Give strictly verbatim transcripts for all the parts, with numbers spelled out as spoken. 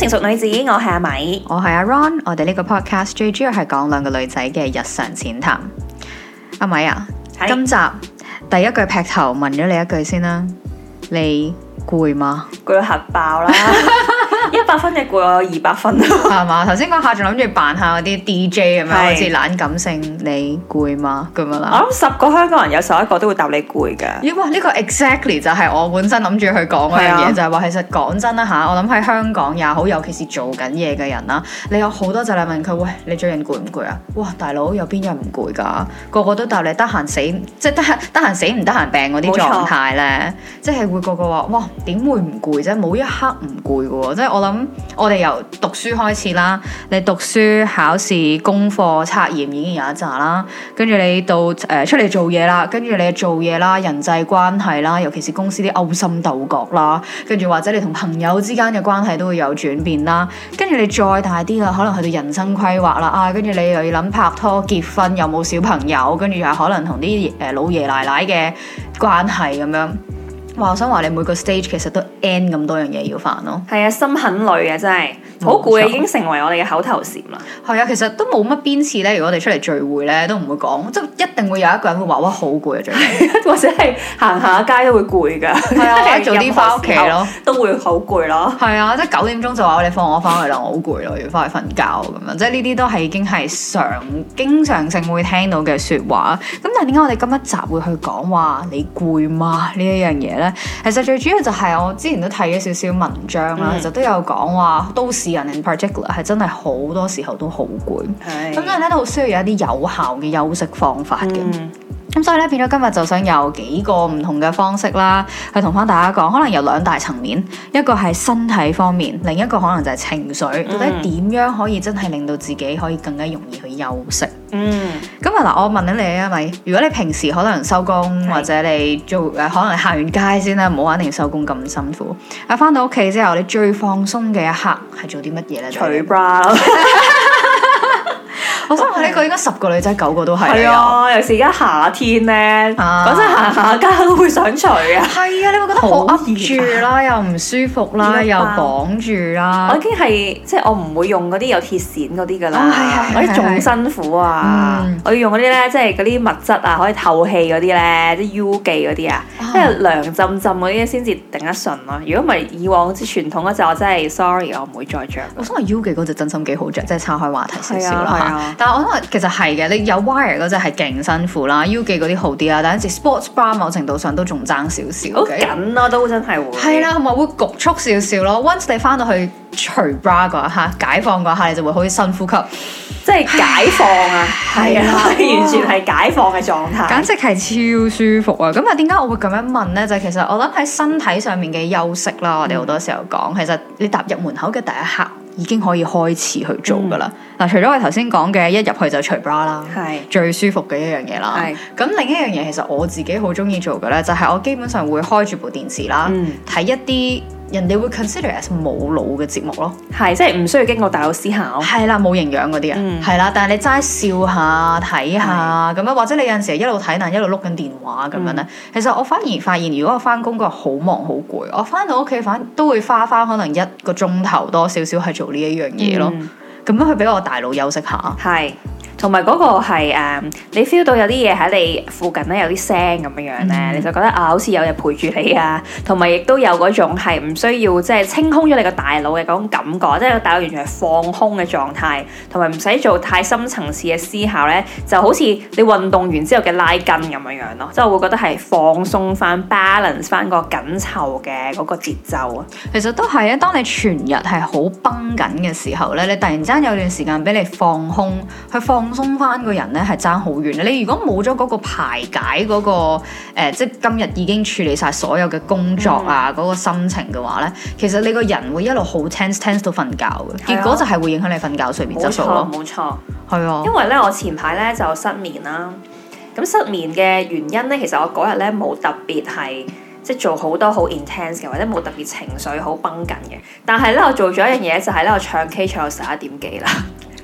成熟女子，我係阿米， 我係阿 Ron。我哋呢個 podcast 最主要係講兩個女仔嘅日常淺談。阿米啊，今集第一句劈頭問咗你一句先啦，你攰嗎？ 攰到核爆啦！一百分嘅攰，我有二百分係嘛？頭先嗰下仲諗住扮下嗰啲 D J 咁樣，好似懶感性。你攰嗎？咁樣啦。 我諗十個香港人有十一個都會答你攰㗎。 咦？哇！呢個 exactly 就係我本身諗住去講嗰樣嘢，就係話其實講真啦嚇，我諗喺香港也好，尤其是做緊嘢嘅人啦，你有好多就嚟問佢，喂，你最近攰唔攰啊？哇！大佬有邊日唔攰㗎？個個都答你得閒死，即係得閒得閒死唔得閒病嗰啲狀態咧，即係會個個話哇點會唔攰啫？冇一刻唔攰嘅喎，即係我諗我哋由讀書開始啦，你讀書、考試、功課、測驗已經有一紮啦，跟住你到誒、呃、出嚟做嘢啦，跟住你做嘢啦、人際關係啦，尤其是公司啲勾心鬥角啦，跟住或者你同朋友之間嘅關係都會有轉變啦，跟住你再大啲啦，可能去到人生規劃啦，啊，跟住你又要諗拍拖、結婚，有冇小朋友，跟住又可能同啲誒老爺奶奶嘅關係咁樣。哇！我想話你每個 stage 其實都 N 咁多樣嘢要煩咯。係啊，心很累啊，真係好攰啊，已經成為我哋嘅口頭禪啦。 係啊，其實都冇乜邊次咧，如果我哋出嚟聚會咧，都唔會講，即係一定會有一個人會話哇好攰啊，最近或者係行下街都會攰㗎。 係啊，早啲翻屋企咯， 都會好攰咯。 係啊，即係九點鐘就話你放我翻去啦，我好攰咯，要翻去瞓覺咁樣。即係呢啲都係已經係常經常性會聽到嘅説話。咁但係點解我哋今一集會去講話你攰嗎呢一樣嘢咧？其實最主要就係我之前都睇咗少少文章啦，嗯、其實都有講話都市人 in particular 係真係好多時候都好攰，咁所以咧都好需要有一啲有效嘅休息方法嘅。咁、嗯、所以咧變咗今日就想有幾個唔同嘅方式啦，去同翻大家講，可能有兩大層面，一個係身體方面，另一個可能就係情緒，到底點樣可以真係令到自己可以更加容易去休息。嗯，咁啊嗱，我問緊你啊，咪如果你平時可能收工或者你做誒，可能行完街先啦，唔好話一定收工咁辛苦。啊，翻到屋企之後，你最放鬆嘅一刻係做啲乜嘢咧？ 除 bra 咯。 我想話呢個應該十個女仔九個都係。 係啊，尤其是而家夏天咧，講真行下街都會想除啊。 係啊，你會覺得好噏住啦，又唔舒服啦，又綁住啦。 我已經係即係我唔會用嗰啲有鐵線嗰啲㗎啦，嗰啲仲辛苦啊！我要用嗰啲咧，即係嗰啲物質啊，可以透氣嗰啲咧，啲 U 記嗰啲啊，即係涼浸浸嗰啲先至頂得順咯。如果唔係以往啲傳統嗰隻，我真係 sorry，我唔會再着。 我想話 U 記嗰隻真心幾好着，即係岔開話題少少啦。但係我諗其實係嘅，你有 wire 嗰隻係勁辛苦啦 ，U 記嗰啲好啲啦，但係有時 sports bra 某程度上都仲爭少少。 好緊咯，都真係會。 係啦，同埋會焗促少少咯。Once 你翻到去除 bra 嗰一刻，解放嗰一刻，你就會好似深呼吸， 即係解放啊！係啊，完全係解放嘅狀態， 簡直係超舒服啊！咁啊，點解我會咁樣問咧？就係、其實我諗喺身體上面嘅休息啦，我哋好多時候講，其實你踏入門口嘅第一刻，已經可以開始去做噶啦。嗱、嗯，除咗我頭先講嘅一入去就除 bra 啦，係最舒服嘅一樣嘢啦。係咁，另一樣嘢其實我自己好中意做嘅咧，就係、是、我基本上會開住部電視啦，睇、嗯、一啲人哋會 consider as 冇腦嘅節目咯。係，即係唔需要經過大腦思考。係啦，冇營養嗰啲啊。係啦、嗯，但係你齋笑下睇下咁樣，或者你有陣時一路睇但一路碌緊電話咁樣咧。嗯、其實我反而發現，如果我翻工嗰日好忙好攰，我翻到屋企反都會花翻可能一個鐘頭多少少係做呢一樣嘢咯。咁、嗯、樣去俾我大腦休息下。係。同埋嗰個係、uh, 你 feel 到有啲嘢喺你附近咧，有啲聲咁樣樣咧，嗯、你就覺得啊，好似有人陪住你啊，同埋亦都有嗰種係唔需要即係清空咗你個大腦嘅嗰種感覺，即係個大腦完全係放空嘅狀態，同埋唔使做太深層次嘅思考咧，就好似你運動完之後嘅拉筋咁樣樣咯，即係我會覺得係放鬆翻、balance 翻個緊湊嘅嗰個節奏啊。其實都係啊，當你全日係好繃緊嘅時候咧，你突然之間有段時間俾你放空，去放。放鬆翻個人咧係爭好遠。你如果冇咗嗰個排解嗰、嗰個誒、呃，即係今日已經處理晒所有嘅工作啊，嗰、嗯、個心情嘅話咧，其實你個人會一路好 tense tense 到瞓覺嘅，結果就係會影響你瞓覺睡眠質素咯。冇錯，係啊。因為咧，我前排咧就失眠啦。咁失眠嘅原因咧，其實我嗰日咧冇特別係即係做好多好 intense 嘅，或者冇特別情緒好繃緊嘅。但係咧，我做咗一樣嘢就係咧，我唱 K 唱到十一點幾啦。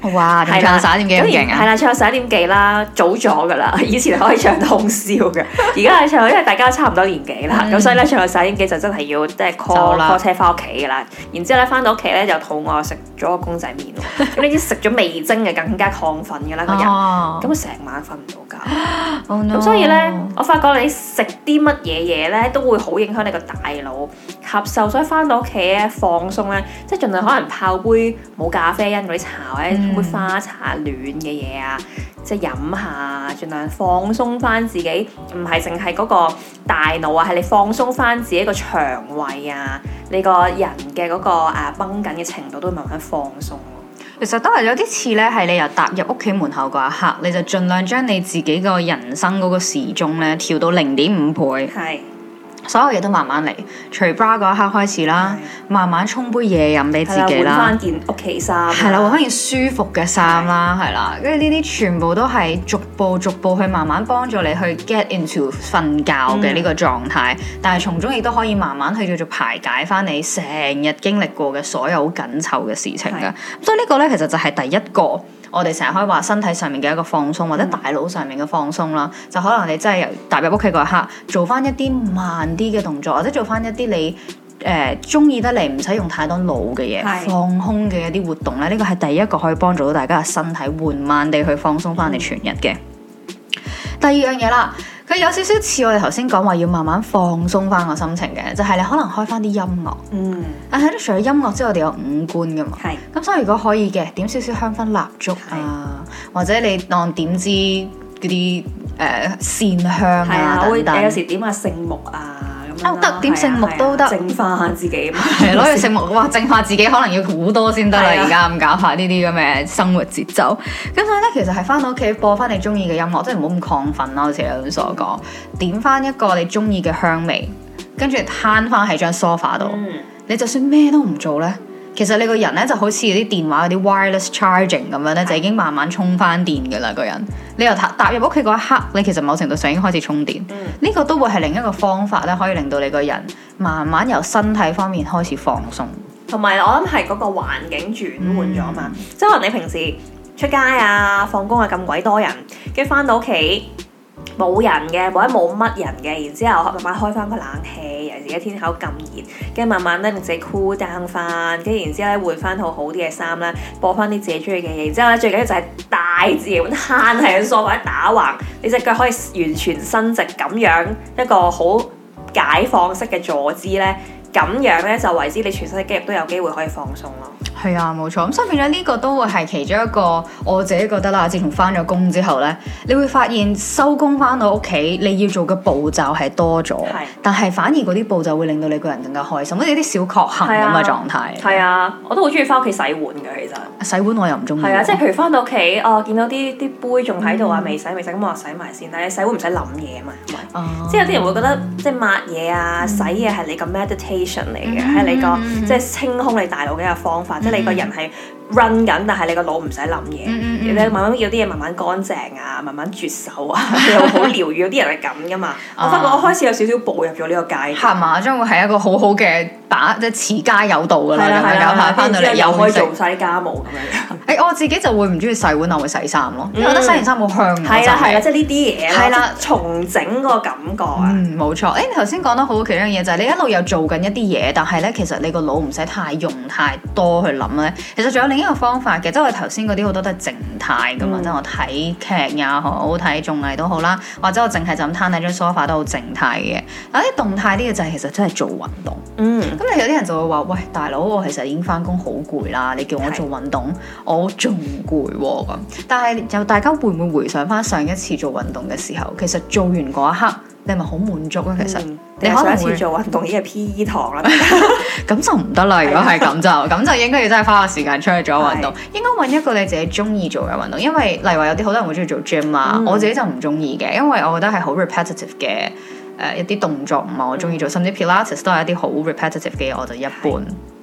哇！仲唱十一點幾咁勁啊？ 係啦，唱十一點幾啦，早咗噶啦。以前可以唱到通宵嘅，而家係唱，因為大家差唔多年紀啦，咁、嗯、所以咧唱到十一點幾就真係要即係 call call 車翻屋企噶啦。然之後咧翻到屋企咧就肚餓，食咗個公仔麵喎。咁你啲食咗味精嘅更加亢奮嘅啦個人，咁成、哦、晚瞓唔到覺。咁、oh、no. 所以咧，我發覺你食啲乜嘢嘢咧都會好影響你個大腦吸收，所以翻到屋企咧放鬆咧，即係盡量可能泡杯冇咖啡因嗰啲茶或者杯花茶暖嘅嘢啊，即係飲下，盡量放鬆翻自己，唔係淨係嗰個大腦啊，係你放鬆翻自己個腸胃啊，你個人嘅嗰個誒繃緊嘅程度都會慢慢放鬆。 其實都係有啲似咧，係你由踏入屋企門口嗰一刻，你就盡量將你自己個人生嗰個時鐘咧調到零點五倍。係。所有嘢都慢慢嚟，除 bra 嗰一刻開始啦，的慢慢沖杯嘢飲俾自己啦，換翻件屋企衫， 係啦，換翻件舒服嘅衫啦，係啦，跟住呢啲全部都係逐步逐步去慢慢幫助你去 get into 瞓覺嘅呢個狀態，嗯、但係從中亦都可以慢慢去叫做排解翻你成日經歷過嘅所有好緊湊嘅事情㗎，的所以呢個咧其實就係第一個。我哋成日可以話身體上面嘅一個放鬆，或者大腦上面嘅放鬆啦，嗯、就可能你真係由踏入屋企嗰一刻，做翻一啲慢啲嘅動作，或者做翻一啲你誒中意得嚟唔使用太多腦嘅嘢，是放空嘅一啲活動咧，呢個係第一個可以幫助到大家嘅身體緩慢地去放鬆翻你全日嘅。嗯、第二樣嘢啦。佢有少少似我哋頭先講話要慢慢放鬆翻個心情嘅，就係、是、你可能開翻啲音樂。嗯。但係咧，除咗音樂之外，我哋有五官噶嘛。係是。咁所以如果可以嘅，點少少香薰蠟燭啊，是或者你當點支嗰啲誒線香啊等等。 有時點下聖木啊。 哦，得點聖木都得， 淨化下自己。 係攞嚟聖木，哇！淨化自己可能要好多先得啦。而家咁搞下呢啲咁嘅生活節奏。咁所以咧，其實係翻到屋企播翻你中意嘅音樂，即係唔好咁亢奮啦。好似你所講，點翻一個你中意嘅香味，跟住攤翻喺張 sofa 度。嗯、你就算咩都唔做咧，其實你個人咧就好似啲電話嗰啲 wireless charging 咁樣咧，就已經慢慢充翻電噶啦。個人你又踏踏入屋企嗰一刻，你其實某程度上已經開始充電。呢、嗯、個都會係另一個方法咧，可以令到你個人慢慢由身體方面開始放鬆。 同埋我諗係嗰個環境轉換咗嘛，嗯、即係可能你平時出街啊、放工啊咁鬼多人，跟住翻到屋企冇人嘅，或者冇乜人嘅，然之後慢慢開翻個冷氣，尤其是而家天氣咁熱，跟住慢慢咧令自己 cool down 翻，跟住然之後咧換翻套好啲嘅衫啦，播翻啲自己中意嘅嘢，然之後咧最緊要就係大自然攤喺個梳化打橫，你隻腳可以完全伸直咁樣一個好解放式嘅坐姿咧，咁樣咧就為之你全身嘅肌肉都有機會可以放鬆咯。 係啊，冇錯。咁所以變咗呢個都會係其中一個我自己覺得啦。自從翻咗工之後咧，你會發現收工翻到屋企，你要做嘅步驟係多咗，是但係反而嗰啲步驟會令到你個人更加開心，好似啲小確幸咁嘅狀態。 係啊，我都好中意翻屋企洗碗嘅，其實洗碗我又唔中意。 係啊，即係譬如翻到屋企，哦，見到啲啲杯仲喺度啊，未洗未洗，咁我洗埋先。但係你洗碗唔使諗嘢啊嘛，係咪？哦、即係有啲人會覺得即係抹嘢啊、嗯、洗嘢係你個 meditation 嚟嘅，係、嗯、你個、嗯、即係清空你大腦嘅一個方法，嗯、即係你個人係 run 緊，但係你個腦唔使諗嘢，嗯嗯、你慢慢要啲嘢慢慢乾淨啊，慢慢絕手啊，又好療癒。有啲人係咁噶嘛。我發覺我開始有少少步入咗呢個階段，係嘛？將會係一個好好嘅把即係持家有道噶啦，咁樣搞下翻到嚟又可以做晒啲家務咁樣。誒，我自己就會唔中意洗碗，我會洗衫咯，因為覺得洗完衫好香。係啊係啊，即係呢啲嘢係啦，重整個感覺啊。嗯，冇錯。誒，你頭先講得好，其中一樣嘢就係你一路又做緊一啲嘢，但係咧其實你個腦唔使太用太多去諗咧。其實仲有另一個方法嘅，即係我頭先嗰啲好多都係靜態噶嘛，即係我睇劇也好，睇綜藝都好啦，或者我淨係就咁攤喺張梳化都好靜態嘅。有啲動態啲嘅就係其實真係做運動。嗯，咁你有啲人就會話：喂，大佬，我其實已經翻工好攰啦，你叫我做運動，是我仲攰喎咁。但係就大家會唔會回想翻上一次做運動嘅時候，其實做完嗰一刻，你係咪好滿足啊？其實、嗯、你可能上一次做運動已經係 P E 堂啦，咁就唔得啦。如果係咁就咁就應該要真係花個時間出去做運動。是應該揾一個你自己中意做嘅運動，因為例如話有啲好多人會中意做 gym 啊，嗯、我自己就唔中意嘅，因為我覺得係好 repetitive 嘅。誒、呃、一啲動作唔係我中意做，甚至 Pilates 都係一啲好 repetitive 嘅嘢，我就一般。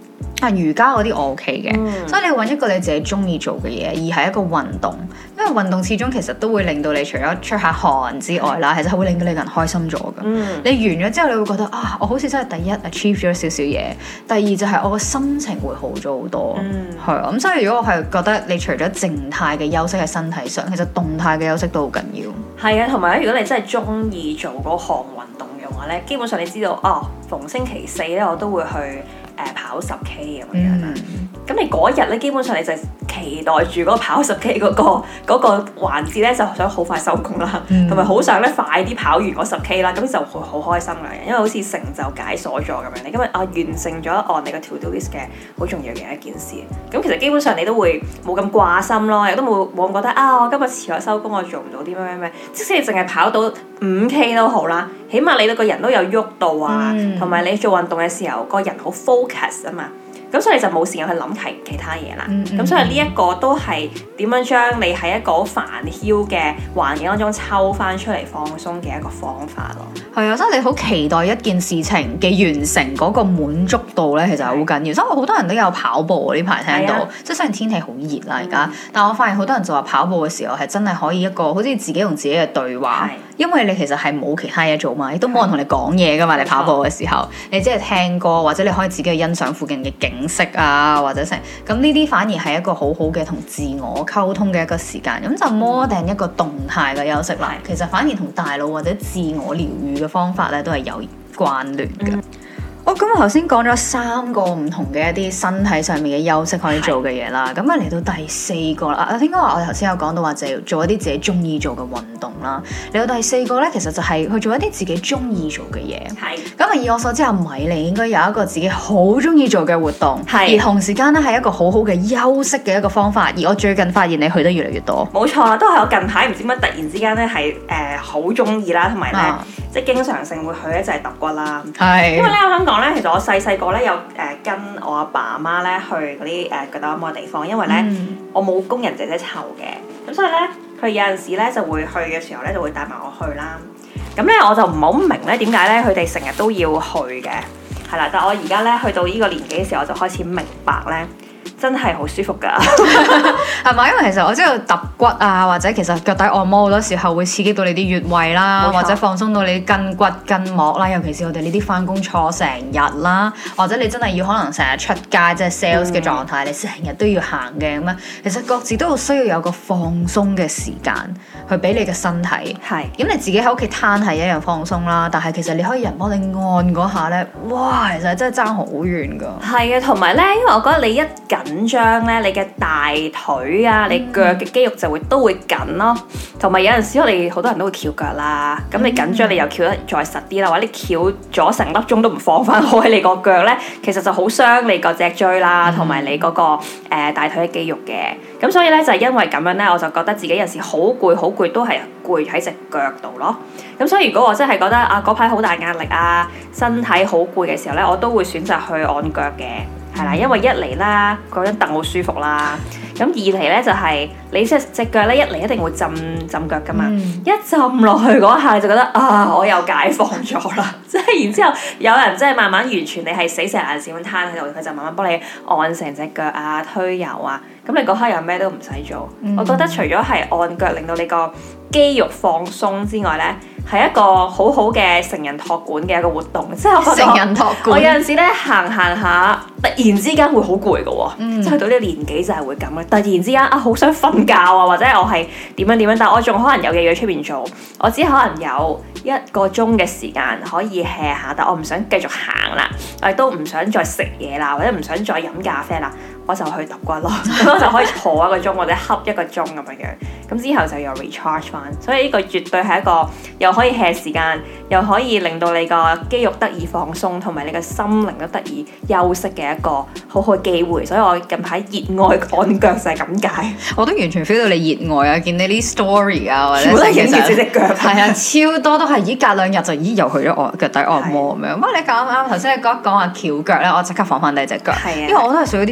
但瑜伽嗰啲我 OK 嘅， 嗯、 所以你揾一個你自己中意做嘅嘢，而係一個運動，因為運動始終其實都會令到你除咗出下汗之外啦，其實係會令到你個人開心咗㗎。嗯、你完咗之後，你會覺得啊，我好似真係第一 achieve 咗少少嘢，第二就係我個心情會好咗好多。係啊、嗯，咁所以如果我係覺得你除咗靜態嘅休息喺身體上，其實動態嘅休息都好緊要。 係啊，同埋咧，如果你真係中意做嗰項運動嘅話咧，基本上你知道哦，逢星期四咧我都會去。誒跑十 K 咁樣啦，咁、嗯、你嗰日咧基本上你就期待住嗰個跑十 K 嗰、嗰個嗰、嗰個環節咧，就想好快收工啦，同埋好想咧快啲跑完嗰十 K 啦，咁就會好開心嘅，因為好似成就解鎖咗咁樣，你今日啊完成咗按你個 to do list 嘅好重要嘅一件事，咁其實基本上你都會冇咁掛心咯，亦都冇冇咁覺得啊我今日遲咗收工，我做唔到啲咩咩咩，即使你淨係跑到五 K 都好啦，起碼你個人都有喐到啊，同埋、嗯、你做運動嘅時候個人好 focus 啊嘛，咁所以就冇時間去諗其其他嘢啦。咁、嗯嗯、所以呢一個都係點樣將你喺一個好煩囂嘅環境當中抽翻出嚟放鬆嘅一個方法咯。 係啊，所以你好期待一件事情嘅完成嗰個滿足度咧，其實係好緊要。所以好多人都有跑步呢排聽到，啊、即係雖然天氣好熱啦而家，嗯、但我發現好多人就話跑步嘅時候係真係可以一個好似自己同自己嘅對話。因為你其實係冇其他嘢做嘛，亦都冇人同你講嘢噶嘛。你跑步嘅時候，你只係聽歌，或者你可以自己去欣賞附近嘅景色啊，或者成咁呢啲反而係一個好好嘅同自我溝通嘅一個時間。咁就 more than一個動態嘅休息啦。其實反而同大腦或者自我療愈嘅方法咧都係有關聯嘅。嗯哦，咁我頭先講咗三個唔同嘅一啲身體上面嘅休息可以做嘅嘢啦，咁啊嚟到第四個啦，啊應該話我哋頭先有講到話就係做一啲自己中意做嘅運動啦，嚟到第四個咧，其實就係去做一啲自己中意做嘅嘢。係是。咁啊以我所知，阿米你應該有一個自己好中意做嘅活動，係是。而同時間咧係一個好好嘅休息嘅一個方法，而我最近發現你去得越嚟越多。冇錯啦，都係我近排唔知乜突然之間咧係誒好中意啦，同埋咧即係經常性會去咧就係揼骨啦。係是。因為咧我想講咧，其實我細細個咧有誒跟我阿爸阿媽咧去嗰啲誒腳底按摩嘅地方，因為咧、嗯、我冇工人姐姐湊嘅，咁所以咧佢有陣時咧就會去嘅時候咧就會帶埋我去啦。咁咧我就唔係好明咧點解咧佢哋成日都要去嘅，係啦。但係我而家咧去到呢個年紀嘅時候，我就開始明白咧。真係好舒服㗎，係咪？因為其實我知道揼骨啊，或者其實腳底按摩好多時候會刺激到你啲穴位啦，錯或者放鬆到你啲筋骨筋膜啦。尤其是我哋呢啲返工坐成日啦，或者你真係要可能成日出街即係 sales 嘅狀態，嗯、你成日都要行嘅咁樣。其實各自都好需要有個放鬆嘅時間去俾你嘅身體。係咁是你自己喺屋企攤係一樣放鬆啦，但係其實你可以人幫你按嗰下咧，哇！其實真係爭好遠㗎。係啊， 同埋咧，因為我覺得你一緊緊張咧，你嘅大腿啊，你腳嘅肌肉就會都會緊咯。同埋有陣時我哋好多人都會翹腳啦，咁你緊張你又翹得再實啲啦，或者你翹咗成粒鐘都唔放翻開你個腳咧，其實就好傷你個脊椎啦，同埋你嗰個誒大腿嘅肌肉嘅。咁所以咧就係因為咁樣咧，我就覺得自己有時好攰好攰都係攰喺隻腳度咯。咁所以如果我真係覺得啊嗰排好大壓力啊，身體好攰嘅時候咧，我都會選擇去按腳嘅。係啦，因為一嚟啦，嗰張凳好舒服啦。咁二嚟咧就係、是、你隻隻腳咧一嚟一定會浸浸腳噶嘛，嗯、一浸落去嗰下就覺得啊，我又解放咗啦。即係然之後有人即係慢慢完全你係死成眼線咁攤喺度，佢就慢慢幫你按成隻腳啊、推油啊。咁你嗰刻又咩都唔使做。嗯、我覺得除咗係按腳令到你個肌肉放鬆之外咧，係一個好好嘅成人托管嘅一個活動，即係我覺得成人托管我有陣時咧行行下，突然之間會好攰㗎喎，嗯、即係去到呢個年紀就係會咁嘅。突然之間啊，好想瞓覺啊，或者我係點樣點樣，但係我仲可能有嘢要出邊做，我只可能有一個鐘嘅時間可以 hea 下，但我唔想繼續行啦，我亦都唔想再食嘢啦，或者唔想再飲咖啡啦，我就去揼骨咯，咁我就可以坐一個鐘或者瞌一個鐘咁樣樣，咁之後就又 recharge 翻，所以呢個絕對係一個又可以 hea 時間，又可以令到你個肌肉得以放鬆，同埋你個心靈都得以休息嘅一個好好嘅機會，所以我近排熱愛按腳就係咁解。我都完全 feel 到你熱愛啊！見你啲 story 啊，或者其實影住隻腳，係啊，超多都係咦隔兩日就咦又去咗按腳底按摩咁樣。不過你講啱啱頭先你講一講話翹腳咧，我即刻放翻低隻腳，係啊，因為我都係屬於啲長期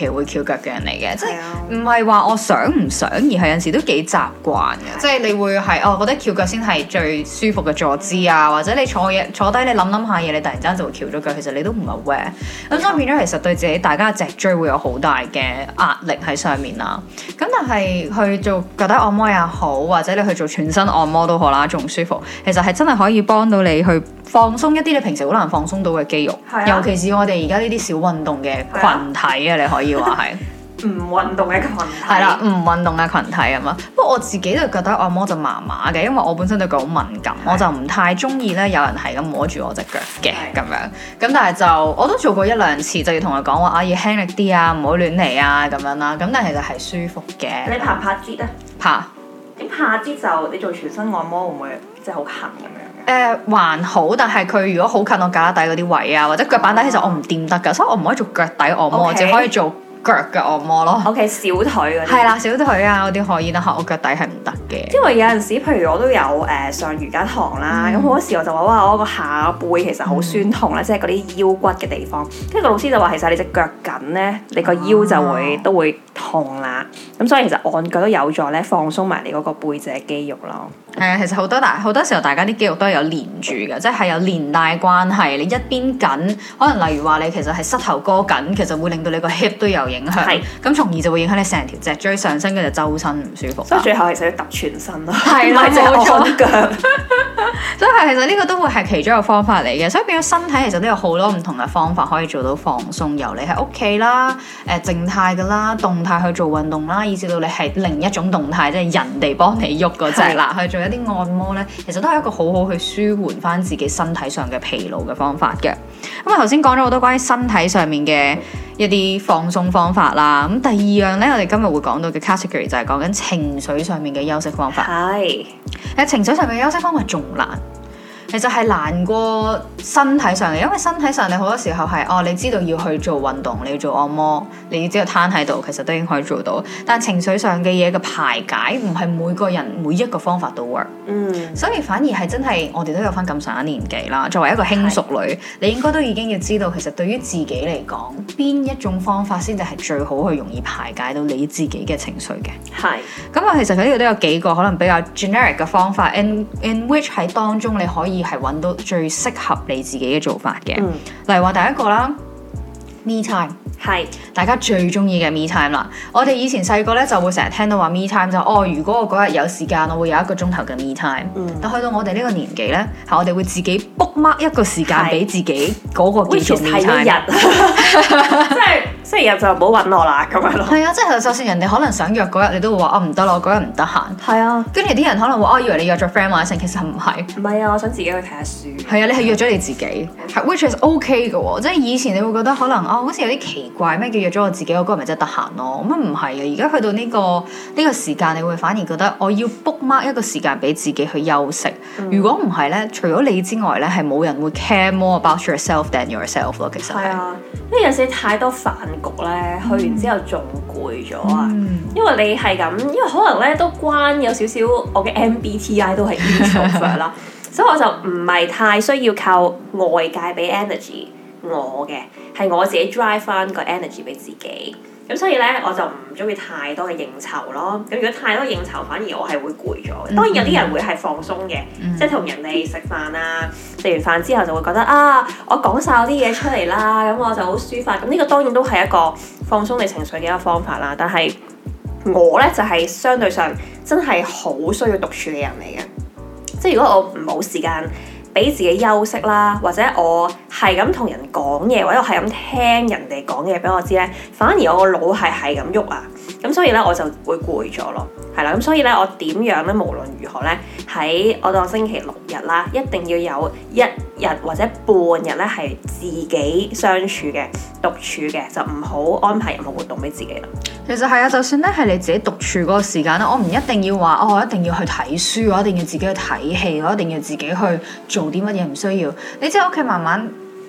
期會翹腳嘅人嚟嘅，即係唔係話我想唔想，而係有陣時都幾習慣嘅，即係你會係哦覺得翹腳先係最舒服嘅坐姿啊，或者你坐嘢坐低你諗諗下嘢，你突然間就會翹咗腳，其實你都唔係 aware，咁所以變咗其實對自己大家嘅脊椎會有好大嘅壓力喺上面啦。咁但係去做腳底按摩也好，或者你去做全身按摩都好啦，仲舒服，其實係真係可以幫到你去放鬆一啲你平時好難放鬆到嘅肌肉，啊、尤其是我哋而家呢啲少運動嘅群體啊，你可以話係唔運動嘅群體， 係啦，唔運動嘅群體啊嘛。不過我自己對腳底按摩就麻麻嘅，因為我本身對腳好敏感，我就唔太中意咧有人係咁摸住我隻腳嘅咁樣。咁但係就我都做過一兩次，就要同佢講話啊，要輕力啲啊，唔好亂嚟啊咁樣啦。咁但係其實係舒服嘅。 你怕唔怕擠啊？ 怕。 咁怕擠就你做全身按摩會唔會即係好痕咁樣？ 誒、呃、還好，但係佢如果好近我胳肋底嗰啲位啊，或者腳板底，其實我唔掂得㗎，所以我唔可以做腳底按摩，只 Okay. 可以做腳嘅按摩咯。 OK， 小腿嗰啲係啦， 小腿啊嗰啲可以，但係我腳底係唔得嘅。 因為有陣時，譬如我都有誒、呃、上瑜伽堂啦，咁好、嗯、多時我就話哇，我個下背其實好酸痛咧，嗯、即係嗰啲腰骨嘅地方。跟住個老師就話，其實你隻腳緊咧，你個腰就會、啊、都會痛啦。咁所以其實按腳都有助咧放鬆埋你嗰個背脊肌肉咯。 係啊，其實好多大好多時候，大家啲肌肉都係有連住嘅，即係有連帶關係。你一邊緊，可能例如話你其實係膝頭哥緊，其實會令到你個 hip 都有影響。係咁是，從而就會影響你成條脊椎上身，跟住周身唔舒服。所以最後其實要揼全身咯，係啦，冇錯腳。所以其實呢個都會係其中一個方法嚟嘅。所以變咗身體其實都有好多唔同嘅方法可以做到放鬆，由你喺屋企啦，誒、呃、靜態㗎啦，動態去做運動啦，以至到你係另一種動態，即係人哋幫你喐嗰隻啦，去做一啲按摩咧，其實都係一個好好去舒緩翻自己身體上嘅疲勞嘅方法嘅。咁啊頭先講咗好多關於身體上面嘅一啲放鬆方法啦。咁第二樣咧，我哋今日會講到嘅 category 就係講緊情緒上面嘅休息方法。係，喺情緒上面嘅休息方法仲難。其實係難過身體上嘅，因為身體上你好多時候係哦，你知道要去做運動，你要做按摩，你要知道攤喺度，其實都已經可以做到。但情緒上嘅嘢嘅排解，唔係每個人每一個方法都 work。嗯，所以反而係真係我哋都有翻咁上下年紀啦。作為一個輕熟女，是你應該都已經要知道，其實對於自己嚟講，邊一種方法先至係最好去容易排解到你自己嘅情緒嘅。係是。咁啊，其實佢呢度都有幾個可能比較 generic 嘅方法 ，in in which 喺當中你可以係揾到最適合你自己嘅做法嘅。嗯、例如話第一個啦 ，me time 係是大家最中意嘅 me time 啦。我哋以前細個咧就會成日聽到話 me time 就哦，如果我嗰日有時間，我會有一個鐘頭嘅 me time。嗯、但去到我哋呢個年紀咧，係我哋會自己 book mark 一個時間俾自己嗰個叫做 me time。一日，即係星期日就唔好揾我啦咁樣咯。係啊，即係就算人哋可能想約嗰日，你都會話哦唔得咯，我嗰日唔得閒。係啊，跟住啲人可能會哦，以為你約咗 friend 或者成，其實唔係。唔係啊，我想自己去睇下書。係啊，你係約咗你自己，係 which is OK 嘅喎。即係以前你會覺得可能哦，好似有啲奇怪，咩叫約咗我自己，我嗰日咪真係得閒咯。咁啊唔係啊，而家去到呢個呢個時間，你會反而覺得我要 book mark 一個時間俾自己去休息。嗯、如果唔係咧，除咗你之外咧，係冇人會 care more about yourself than yourself 咯。其實係啊，因為有時太多飯局咧，去完之後仲攰咗啊。嗯、因為你係咁，因為可能咧都關有少少我嘅 M B T I 都係 introvert 啦，所以我就唔係太需要靠外界俾 energy 我嘅，係我自己 drive 翻個 energy 俾自己。咁所以咧，我就唔中意太多嘅應酬咯。咁如果太多應酬，反而我係會攰咗。嗯、當然有啲人會係放鬆嘅，嗯、即係同人哋食飯啊，食完飯之後就會覺得啊，我講晒我啲嘢出嚟啦，咁我就好抒發。咁呢個當然都係一個放鬆你情緒嘅一個方法啦。但係我咧就係、是、相對上真係好需要獨處嘅人嚟嘅。即係如果我唔冇時間俾自己休息啦，或者我係咁同人講嘢，或者我係咁聽人哋講嘢俾我知咧，反而我個腦係係咁喐啊，咁所以咧我就會攰咗咯，係啦，咁所以咧我點樣咧，無論如何咧，喺我當星期六日啦，一定要有一日或者半日咧係自己相處嘅、獨處嘅，就唔好安排任何活動俾自己啦。其實係啊，就算咧係你自己獨處嗰個時間咧，我唔一定要話哦，我一定要去睇書，我一定要自己去睇戲，我一定要自己去做啲乜嘢，唔需要。你即係屋企慢慢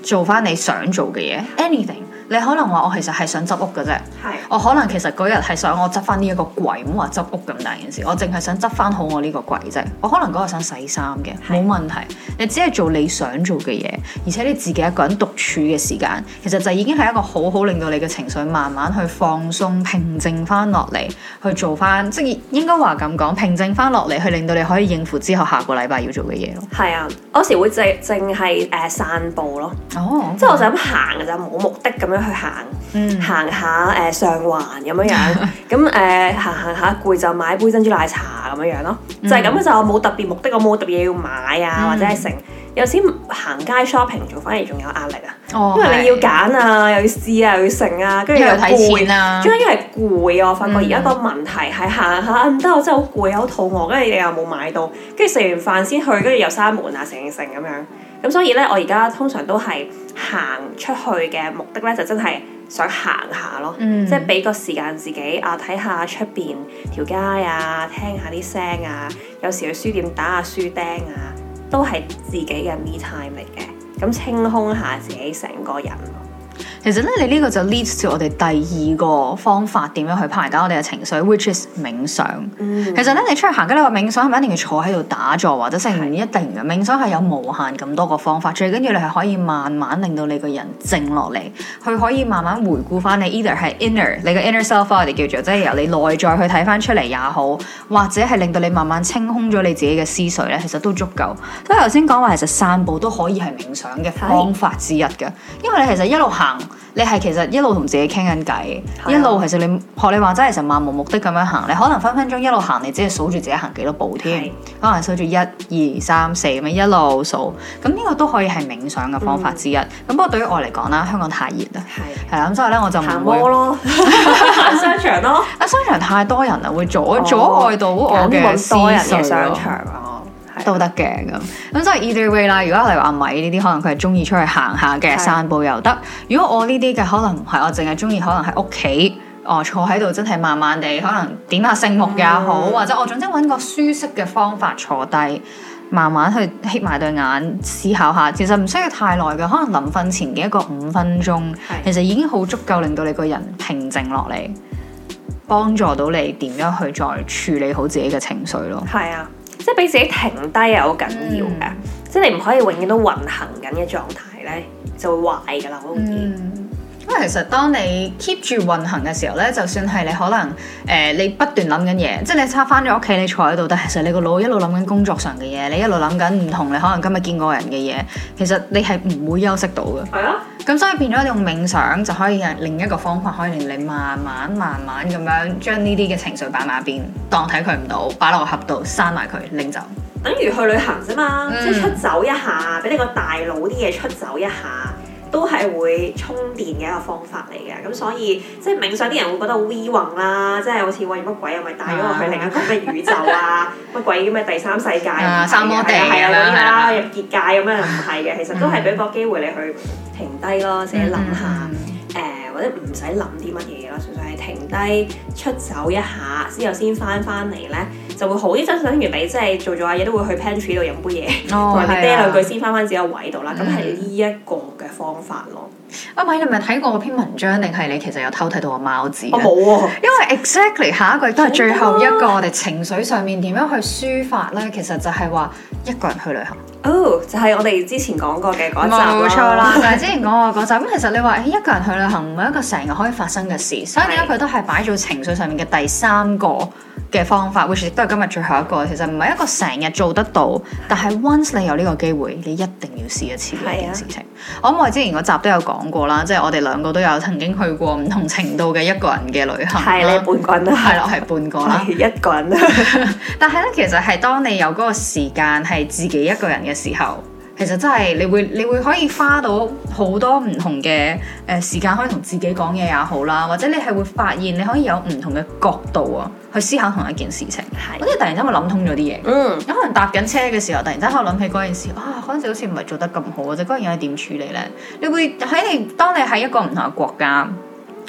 做翻你想做嘅嘢 ，anything。你可能話我其實係想執屋嘅啫， 係我可能其實嗰日係想我執翻呢一個櫃，唔好話執屋咁大件事，我淨係想執翻好我呢個櫃啫。我可能嗰日想洗衫嘅，冇問題。你只係做你想做嘅嘢，而且你自己一個人獨處嘅時間，其實就已經係一個好好令到你嘅情緒慢慢去放鬆、平靜翻落嚟，去做翻即係應該話咁講，平靜翻落嚟，去令到你可以應付之後下個禮拜要做嘅嘢咯。係啊，我有時會淨淨係誒散步咯，哦，即係我就咁行嘅咋，冇目的咁樣。去行，嗯、行下誒、呃、上環咁樣樣，咁誒、呃、行行下攰就買杯珍珠奶茶咁樣樣咯，嗯、就係咁嘅就冇特別目的，我冇特別嘢要買啊，嗯、或者係成有時行街 shopping 做反而仲有壓力啊，哦、因為你要揀啊，又要試啊，又要成啊，跟住又睇錢啊，最緊要係攰啊！我發覺而家個問題係行下唔得，我真係好攰啊，好肚餓，跟住你又冇買到，跟住食完飯先去，跟住又閂門啊，成成咁樣。咁所以咧，我而家通常都係行出去嘅目的咧，就真係想行下咯，嗯、即係俾個時間自己啊，睇下出邊條街啊，聽下啲聲啊，有時去書店打下書釘啊，都係自己嘅 me time 嚟嘅，咁清空下自己成個人。 其實咧，你呢個就 leads to 我哋第二個方法，點樣去排解我哋嘅情緒 ，which is 冥想。嗯、其實咧，你出去行街，你話冥想係咪一定要坐喺度打坐或者成唔一定嘅？冥想係有無限咁多個方法，最緊要你係可以慢慢令到你個人靜落嚟，佢可以慢慢回顧翻你 either 係 inner 你嘅 inner self，我哋叫做即係由你內在去睇翻出嚟也好，或者係令到你慢慢清空咗你自己嘅思緒咧，其實都足夠。所以頭先講話，其實散步都可以係冥想嘅方法之一嘅，因為你其實一路行。你係其實一路同自己傾緊偈，啊、一路其實你學你話齋，其實漫無目的咁樣行，你可能分分鐘一路行，你只係數住自己行幾多步添，是可能數住一、二、三、四咁樣一路數，咁呢個都可以係冥想嘅方法之一。咁、嗯、不過對於我嚟講啦，香港太熱啦，係係啦，咁所以咧我就唔會行摩咯，行商場咯，啊商場太多人啦，會阻、哦、阻礙到我嘅思緒商場啊。都得嘅咁，咁所以 either way 啦。如果例如阿米呢啲，可能佢係中意出去行下嘅，散步又得。如果我呢啲嘅，可能唔係，我淨係中意可能喺屋企，哦坐喺度真係慢慢地，可能點下聖木也好，嗯、或者我總之揾個舒適嘅方法坐低，慢慢去瞌埋對眼思考下。其實唔需要太耐嘅，可能臨瞓前嘅一個五分鐘，其實已經好足夠令到你個人平靜落嚟，幫助到你點樣去再處理好自己嘅情緒咯。係啊。即係俾自己停低係好緊要嘅，嗯、即係你唔可以永遠都運行緊嘅狀態咧，就會壞噶啦，好容易。因為其實當你 keep 住運行嘅時候咧，就算係你可能誒、呃、你不斷諗緊嘢，即係你差翻咗屋企，你坐喺度，但係其實你個腦一路諗緊工作上嘅嘢，你一路諗緊唔同你可能今日見過人嘅嘢，其實你係唔會休息到嘅。係啊。咁所以變咗你用冥想就可以係另一個方法，可以令你慢慢慢慢咁樣將呢啲嘅情緒擺埋一邊，當睇佢唔到，擺落個盒度，閂埋佢，拎走。等於去旅行啫嘛，嗯、即係出走一下，俾你個大腦啲嘢出走一下。都係會充電嘅一個方法嚟嘅，咁所以即係冥想啲人會覺得好 we 宏啦，即係好似喂乜鬼又咪帶咗我去另一個咩宇宙啊，乜鬼咩第三世界啊，三摩地啊嗰啲啦，入結界咁樣唔係嘅，其實都係俾個機會你去停低咯，自己諗下誒、呃，或者唔使諗啲乜嘢咯，純粹係停低出走一下之後先翻翻嚟咧，就會好啲。真係等於你即係做咗下嘢都會去 pantry 度飲杯嘢，同埋你嗲兩句先翻翻自己個位度啦。咁係呢一個嘅方法咯。 阿米，你咪睇過嗰篇文章定係你其實有偷睇到個貓字？ 我冇喎， 因為 exactly 下一句都係最後一個我哋情緒上面點樣去抒發咧，其實就係話一個人去旅行。 哦，oh, 就係我哋之前講過嘅嗰集啦。 冇錯啦，就係之前講過嗰集。咁其實你話一個人去旅行唔係一個成日可以發生嘅事，所以點解佢都係擺做情緒上面嘅第三個嘅方法 which 亦都係今日最後一個。其實唔係一個成日做得到，但係 once 你有呢個機會，你一定要試一次呢件事情。我諗我之前嗰集都有講過啦，即係我哋兩個都有曾經去過唔同程度嘅一個人嘅旅行。 係你半個人啦， 係咯，係半個啦， 一個人。 但係咧，其實係當你有嗰個時間係自己一個人嘅時候，其實真係你會你會可以花到好多唔同嘅誒、呃、時間，可以同自己講嘢也好啦，或者你係會發現你可以有唔同嘅角度啊，去思考同一件事情。係，好似突然間會諗通咗啲嘢。嗯，有可能搭緊車嘅時候，突然間喺度諗起嗰件事，啊，嗰陣時好似唔係做得咁好，或者嗰樣嘢點處理咧？你會喺你當你喺一個唔同嘅國家，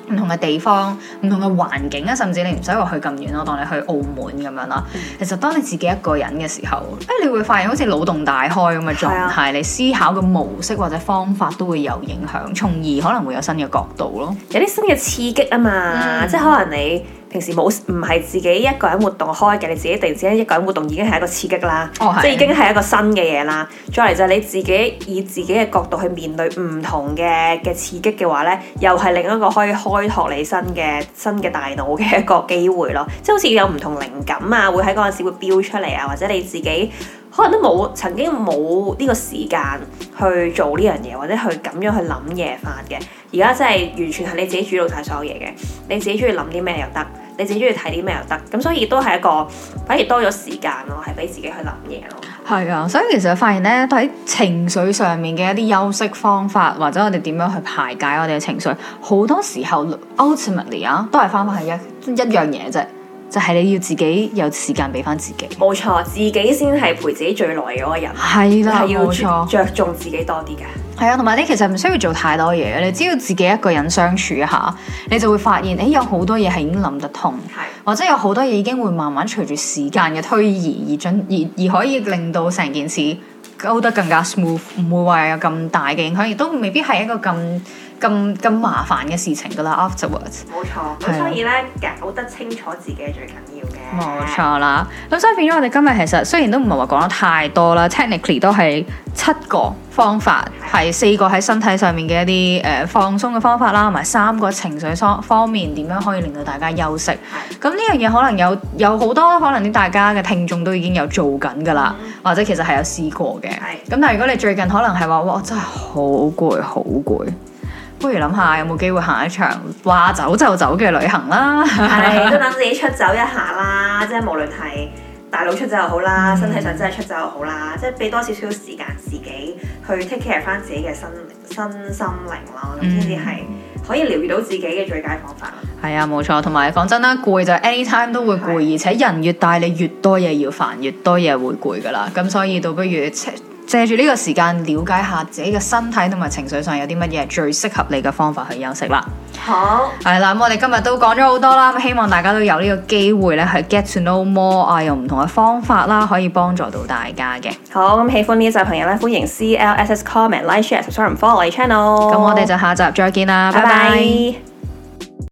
唔同嘅地方、唔同嘅環境啊，甚至你唔使話去咁遠咯，當你去澳門咁樣啦。嗯、其實當你自己一個人嘅時候，誒，你會發現好似腦洞大開咁嘅狀態，啊、你思考嘅模式或者方法都會有影響，從而可能會有新嘅角度咯， 有啲新嘅刺激啊嘛，嗯、即係可能你平時冇唔係自己一個人活動開嘅，你自己突然之間一個人活動已經係一個刺激啦，哦、即係已經係一個新嘅嘢啦。再嚟就係你自己以自己嘅角度去面對唔同嘅嘅刺激嘅話咧，又係另一個可以開拓你新嘅新嘅大腦嘅一個機會咯。即係好似有唔同靈感啊，會喺嗰陣時會飆出嚟啊，或者你自己可能都冇曾經冇呢個時間去做呢樣嘢，或者去咁樣去諗嘢法嘅。而家真係完全係你自己主導晒所有嘢嘅，你自己中意諗啲咩又得，你自己中意睇啲咩又得，咁所以都係一個反而多咗時間咯，係俾自己去諗嘢咯。 係啊，所以其實發現咧，喺情緒上面嘅一啲休息方法，或者我哋點樣去排解我哋嘅情緒，好多時候 ultimately 啊，都係翻返係一一樣嘢啫。就係你要自己有時間俾翻自己， 冇錯，自己先係陪自己最耐嘅嗰個人， 係啦， 冇錯，着重自己多啲嘅。 係啊，同埋你其實唔需要做太多嘢，你只要自己一個人相處一下，你就會發現，誒有好多嘢係已經諗得通，係或者有好多嘢已經會慢慢隨住時間嘅推移而進而而可以令到成件事go得更加 smooth， 唔會話有咁大嘅影響，亦都未必係一個咁咁咁麻煩嘅事情噶啦。Afterwards， 冇錯，咁所以咧搞得清楚自己係最緊要嘅。 冇錯啦，咁所以變咗我哋今日其實雖然都唔係話講得太多啦 ，technically 都係七個方法，係四個喺身體上面嘅一啲誒、呃、放鬆嘅方法啦，同埋三個情緒方方面點樣可以令到大家休息。咁呢樣嘢可能有有好多可能啲大家嘅聽眾都已經有做緊噶啦，嗯、或者其實係有試過嘅。咁的但係如果你最近可能係話哇，我真係好攰好攰。不如諗下有冇機會行一場話走就走嘅旅行啦， 係都等自己出走一下啦，即係無論係大腦出走又好啦，嗯、身體上真係出走又好啦，即係俾多少少時間自己去 take care 翻自己嘅身身心靈咯，咁先至係可以療癒到自己嘅最佳方法。 係啊，冇錯，同埋講真啦，攰就 anytime 都會攰，的而且人越大你越多嘢要煩，越多嘢會攰噶啦，咁所以倒不如借住呢個時間了解下自己嘅身體同埋情緒上有啲乜嘢最適合你嘅方法去休息啦。 好， 係啦，咁我哋今日都講咗好多啦，咁希望大家都有呢個機會咧，去 get to know more 啊，用唔同嘅方法啦，可以幫助到大家嘅。 好，咁喜歡呢一集朋友咧，歡迎 C L S S comment like share subscribe follow 我哋 channel。 咁我哋就下集再見啦，拜拜。